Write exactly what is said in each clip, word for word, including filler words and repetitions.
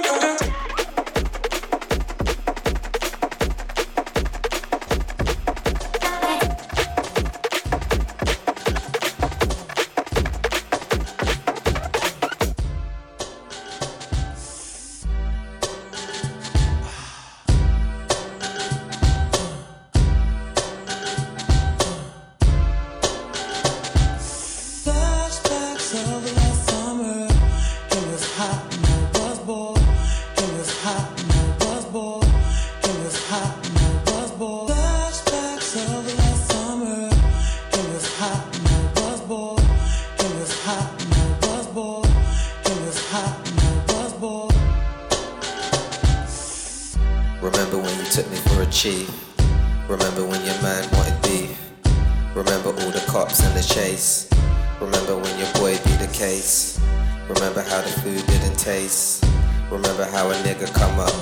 Remember when you took me for a chief? Remember when your man wanted beef? Remember all the cops and the chase? Remember when your boy beat the case? Remember how the food didn't taste? Remember how a nigga come up?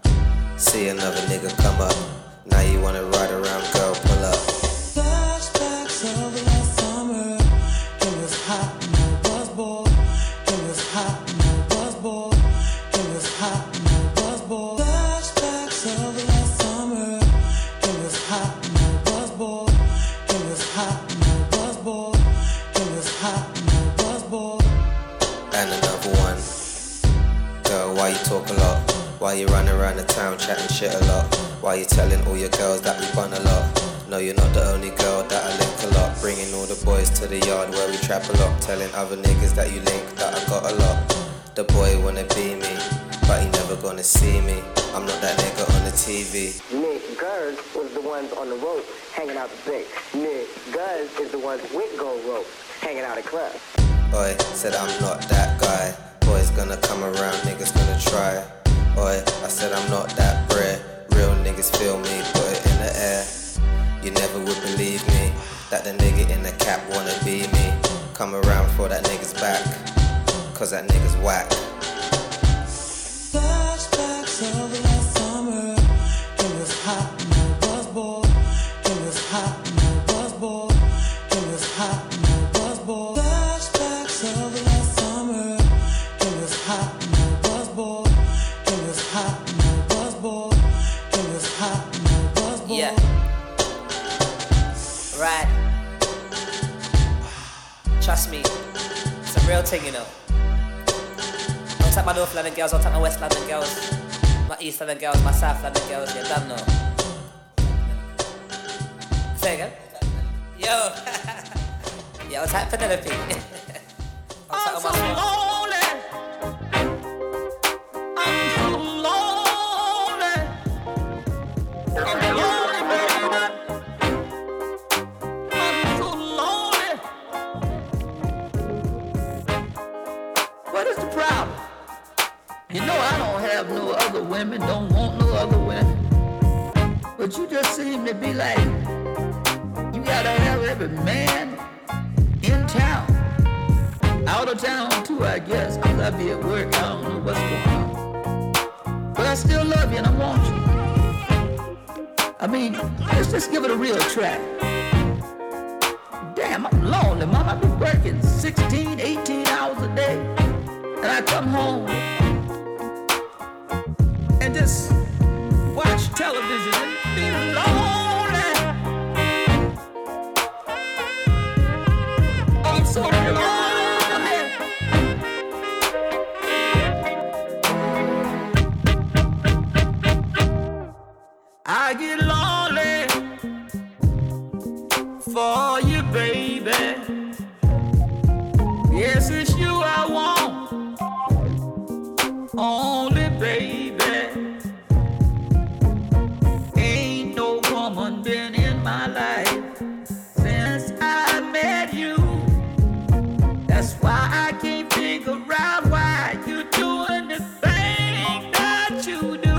See another nigga come up. Now you wanna ride around, girl, pull up. Flashbacks of last summer. It was hot and I was bored. It was hot and I was bored. It was hot and I was bored. Flashbacks of last summer. It was hot and I was bored. It was hot and I was bored. It was hot and I was bored. And another one. Girl, why you talk a lot? Why you run around the town chatting shit a lot? Why you telling all your girls that we bun a lot? No, you're not the only girl that I link a lot. Bringing all the boys to the yard where we trap a lot. Telling other niggas that you link that I got a lot. The boy wanna be me, but he never gonna see me. I'm not that nigga on the T V. Nick Gers was the ones on the rope hanging out the bait. Nick Gers is the ones with gold rope hanging out at clubs. Oi, said I'm not that guy. Boys gonna come around, niggas gonna try. Oi, I said I'm not that bred. Real niggas feel me, put it in the air. You never would believe me, that the nigga in the cap wanna be me. Come around for that nigga's back, cause that nigga's whack. Flashbacks of last summer. It was hot and I was bored. It was hot and I was bored. It was hot and I was bored. Flashbacks of last summer. It was hot and I was bored. It was hot and I was bored. It was hot and I was bored. Yeah. Right. Trust me, it's a real thing, you know. Don't take my North London girls, don't take my West London girls, my East London girls, my South London girls, you don't know. Say again? Yo! Yo, type Penelope. I'm so lonely. I'm so lonely. I'm lonely, baby. I'm so lonely. What is the problem? You know I don't have no other women, don't want no other women. But you just seem to be like, you gotta have every man in town. Out of town too, I guess, cause I be at work, I don't know what's going on. But I still love you and I want you. I mean, let's just give it a real try. Damn, I'm lonely, mom. I've been working sixteen, eighteen hours a day. And I come home and just watch television and be lonely. I'm so lonely. I get lonely for you, baby. Yes, it's you I want. Only, baby. Ain't no woman been in my life since I met you. That's why I can't figure out why you doing the thing that you do.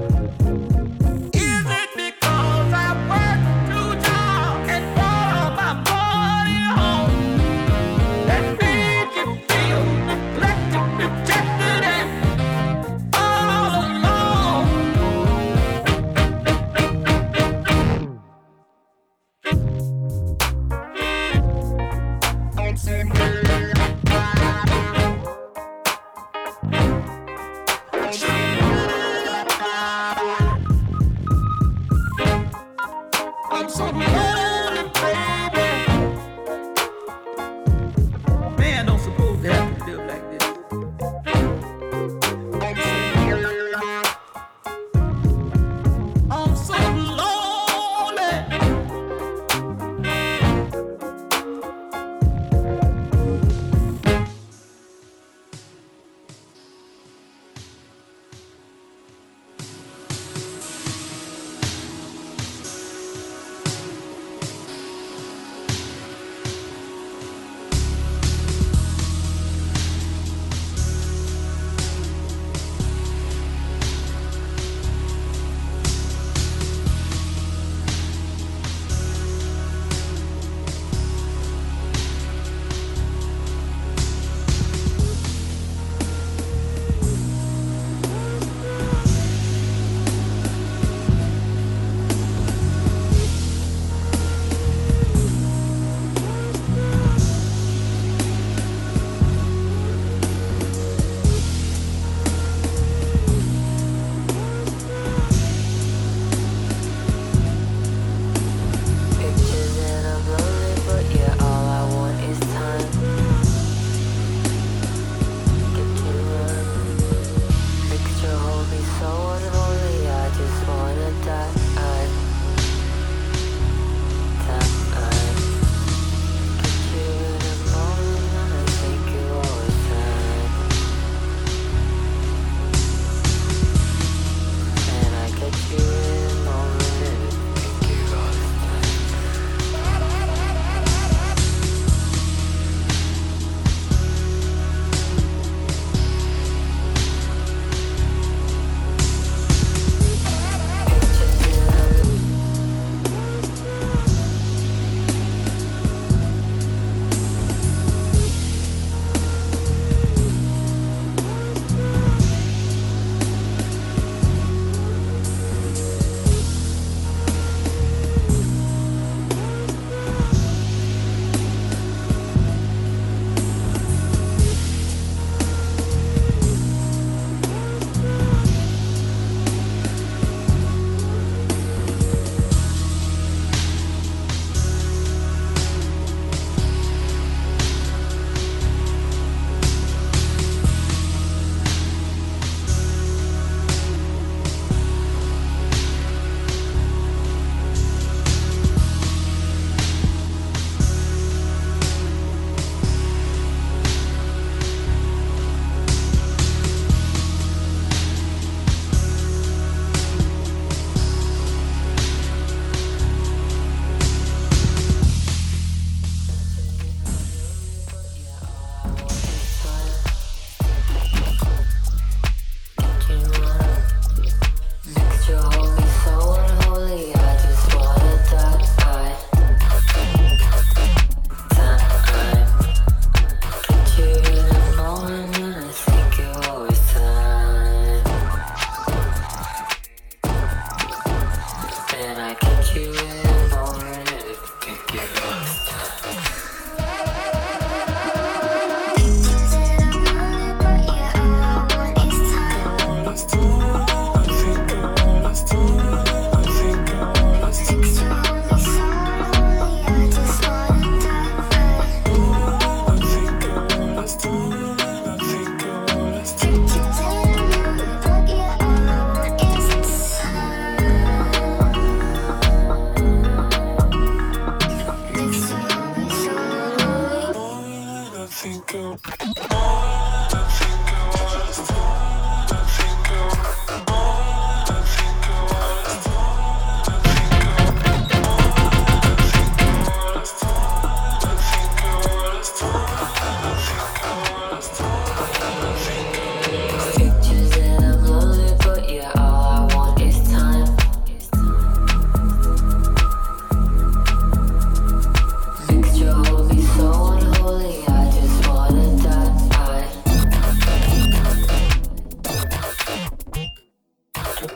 Is it because I work too hard and brought all my money home that made you feel neglected, rejected, and all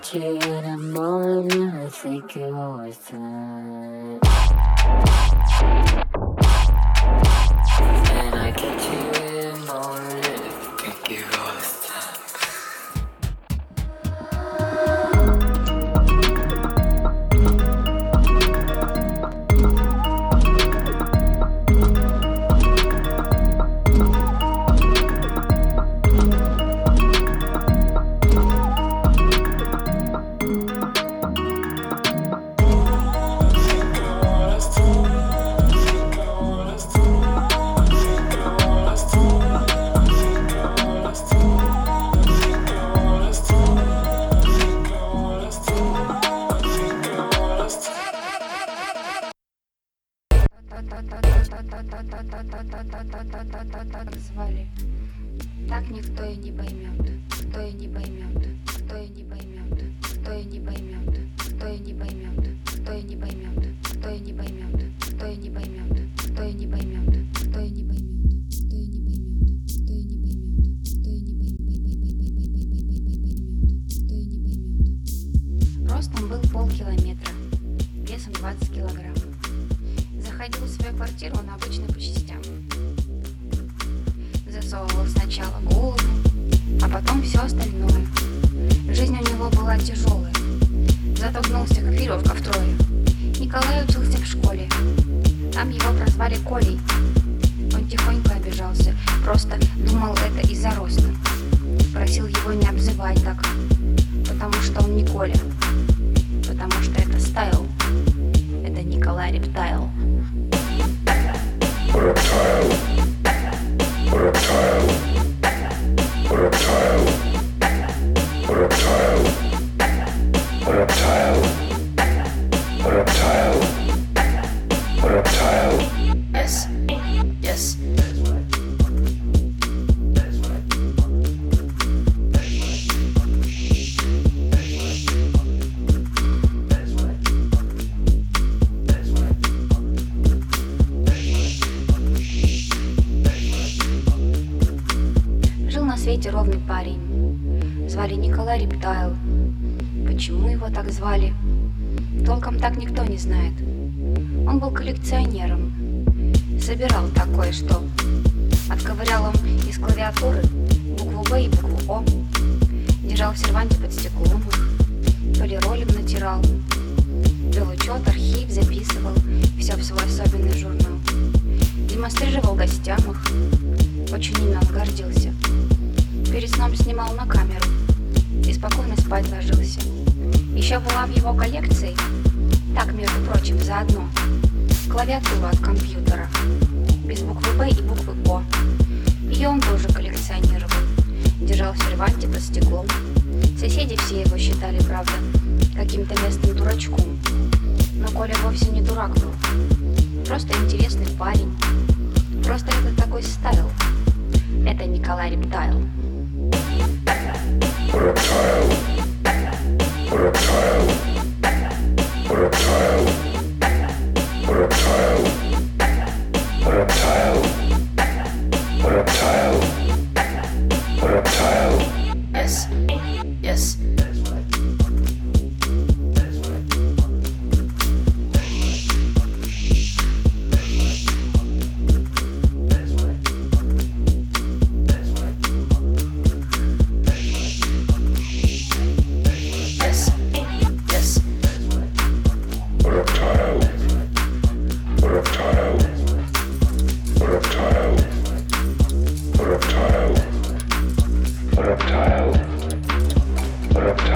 get you in the morning, I think it was time. And I get you in the morning, I think it was time. Звали. Так никто и не поймет, кто и не поймет, кто и не поймет, кто и не поймет, кто и не поймет, кто и не поймет, кто и не поймет, кто и не поймет, кто и не поймет, кто и не поймет, кто и не поймет, кто и не поймет, кто и не поймет. Ростом был полкилометра, весом двадцать килограмм. Заходил в свою квартиру он обычно по частям. Засовывал сначала голову, а потом все остальное. Жизнь у него была тяжелая. Зато гнулся, как веревка втрое. Николай учился в школе. Там его прозвали Колей. Он тихонько обижался. Просто думал, это из-за роста. Просил его не обзывать так, потому что он не Коля. Потому что это стайл. Это Николай Рептайл. Reptile. Reptile. Reptile. Reptile. Reptile. Reptile. Reptile. Yes. Yes. Жил на свете ровный парень. Звали Николай Рептайл. Почему его так звали? Толком так никто не знает. Он был коллекционером. Собирал такое, что отковырял он из клавиатуры букву Б и букву О. Держал в серванте под стеклом их. Полиролем натирал. Вел учет, архив, записывал. Все в свой особенный журнал. Демонстрировал гостям их. Очень ими он гордился. Перед сном снимал на камеру и спокойно спать ложился. Еще была в его коллекции, так, между прочим, заодно, клавиатура от компьютера, без буквы Б и буквы О. Ее он тоже коллекционировал, держал в серванте под стеклом. Соседи все его считали, правда, каким-то местным дурачком. Но Коля вовсе не дурак был, просто интересный парень. Просто это такой стайл. Это Николай Рептайл. Reptile. Reptile. Reptile. Reptile. Reptile. Reptile. Reptile. Yes. Yes. Reptile. Reptile. Reptile. Reptile. Reptile. Reptile.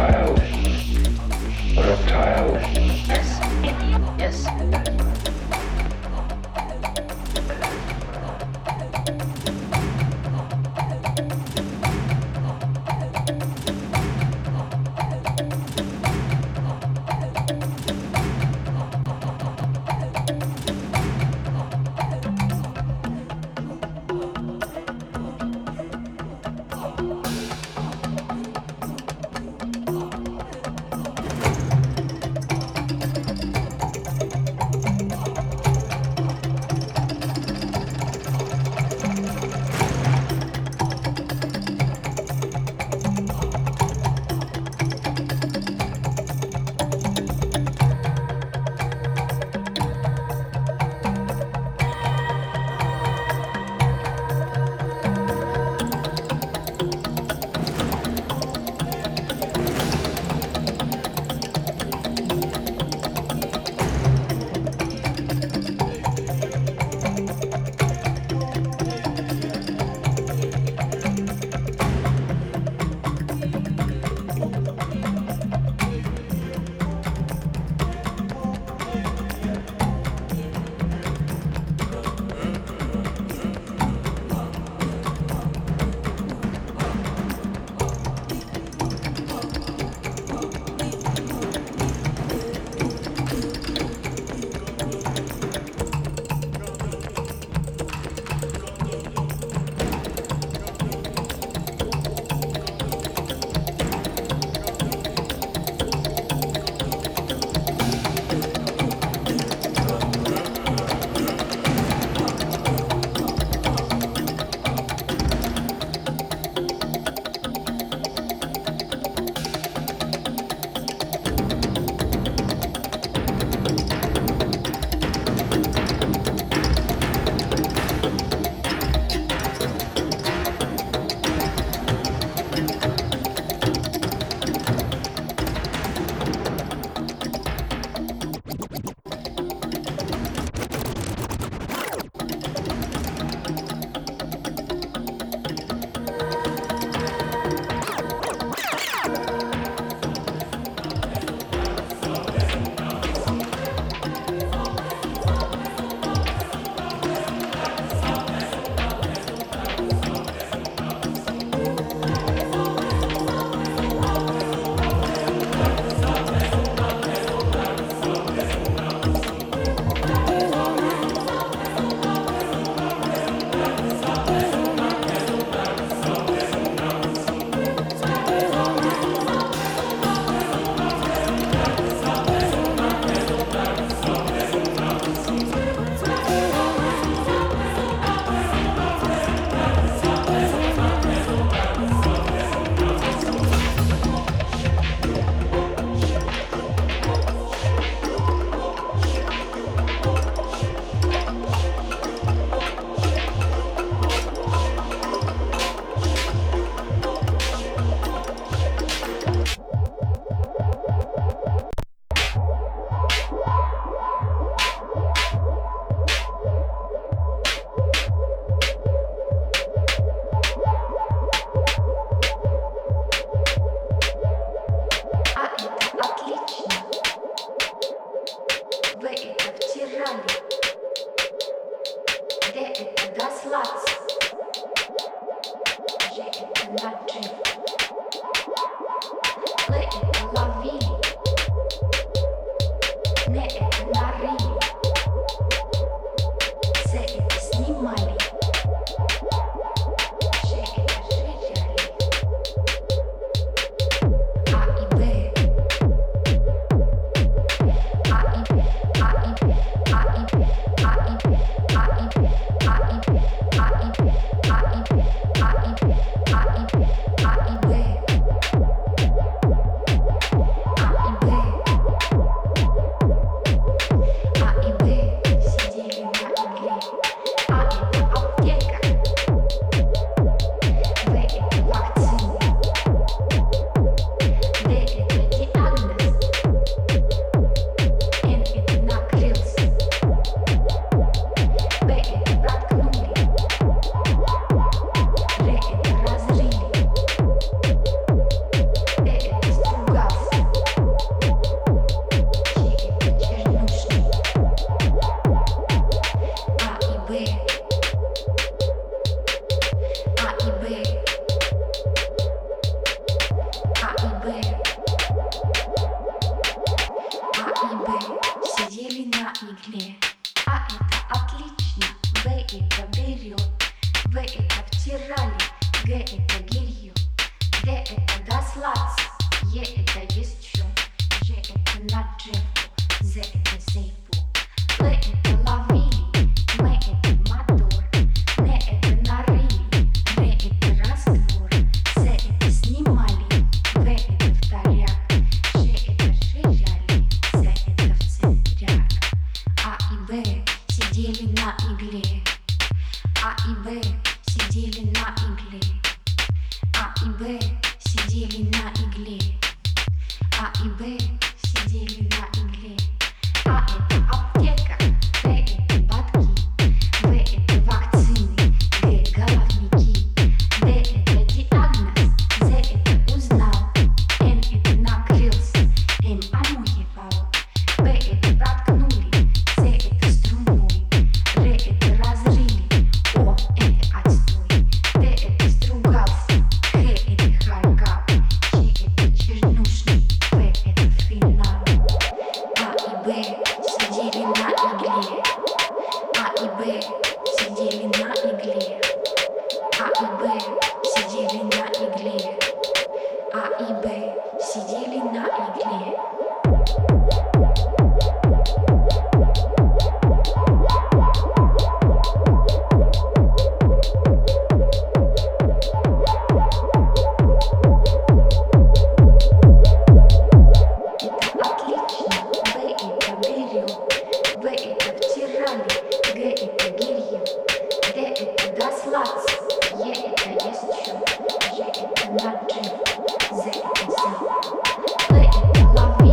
Love me.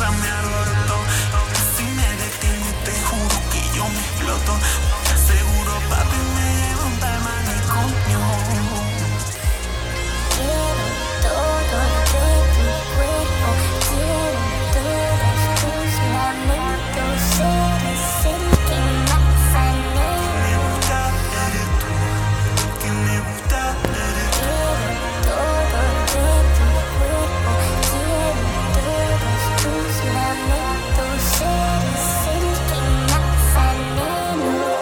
nunca me alborotó. Si me detengo te juro que yo me exploto. Seguro papi me lleva un tal manicomio. Quiero todo de tu cuerpo, quiero todos tus momentos, eres el que más anhelo. Me gusta, eres tú, que me gusta, eres tú. Quiero todo de tu cuerpo, quiero todos tus momentos, eres el que más anhelo.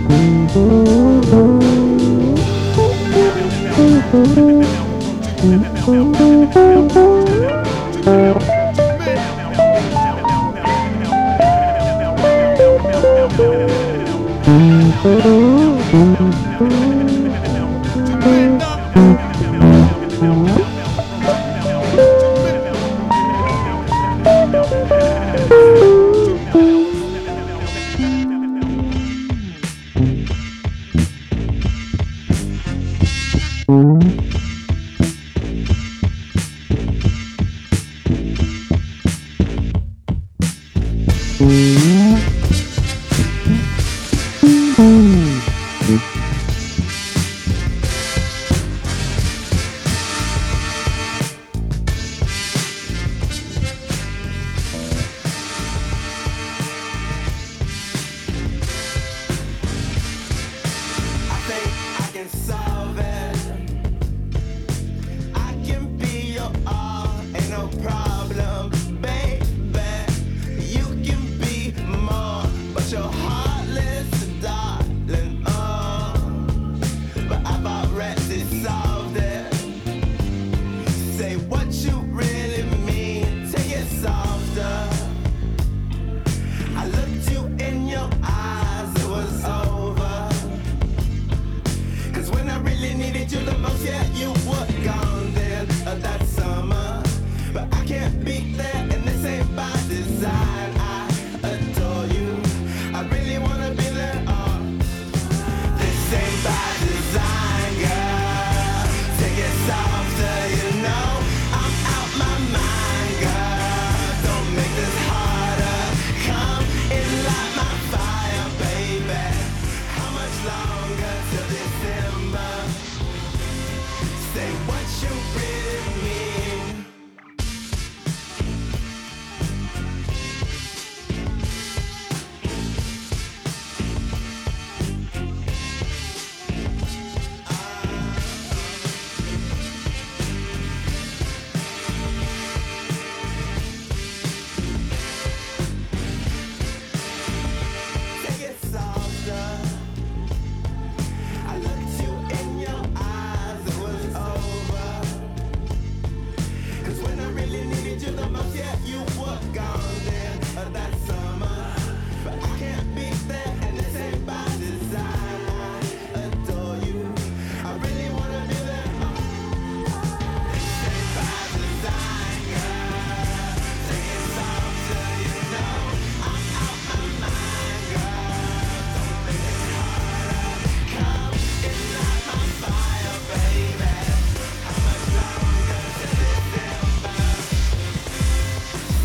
Mm-hmm.